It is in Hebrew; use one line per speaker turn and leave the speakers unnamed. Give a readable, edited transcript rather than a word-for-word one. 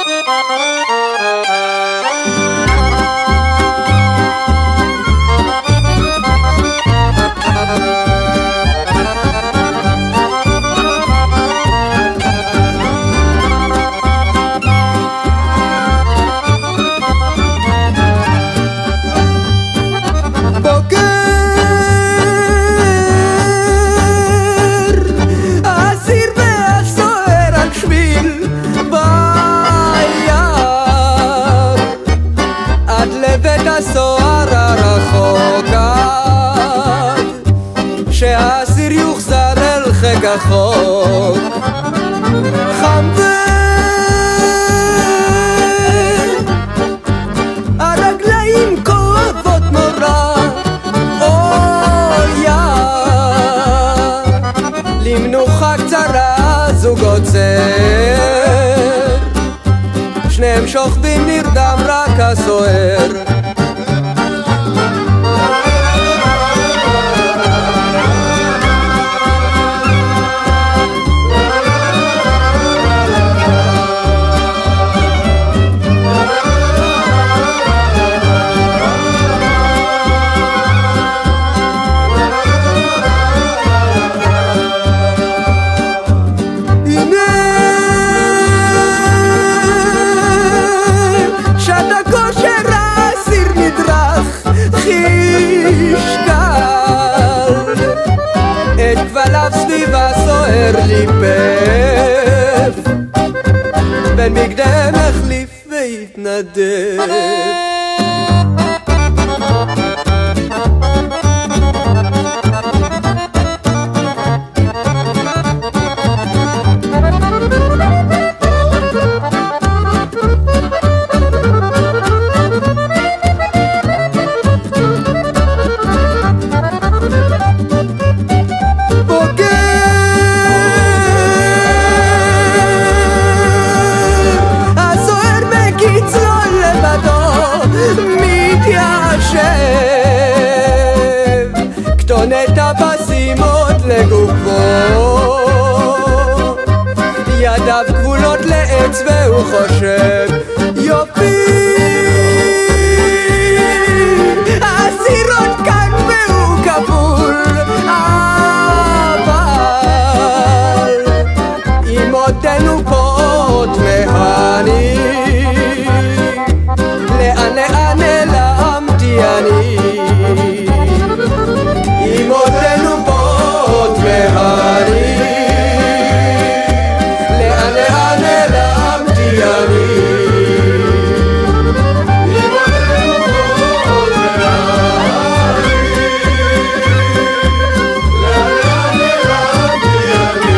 הסוהר הרחוק עד שהאסיר יוחזר אל חיק החוק. חם והרגליים כואבות נורא, אוי למנוחה קצרה זוגות צער, שניהם שוכבים נרדם רק הסוהר. כבליו סביב הסוער ליפף, בן מגדם החליף והתנדף. כתונת הפסים עוד לגופו, ידיו כבולות לעץ והוא חושב יופי, האסיר עוד כאן והוא כבול, אבל אמותינו פה עוד מהני, לאן לאן נעלמתי אני, אמותינו באות מהני, לאן לאן נעלמתי אני, אמותינו באות מהני, לאן לאן נעלמתי אני.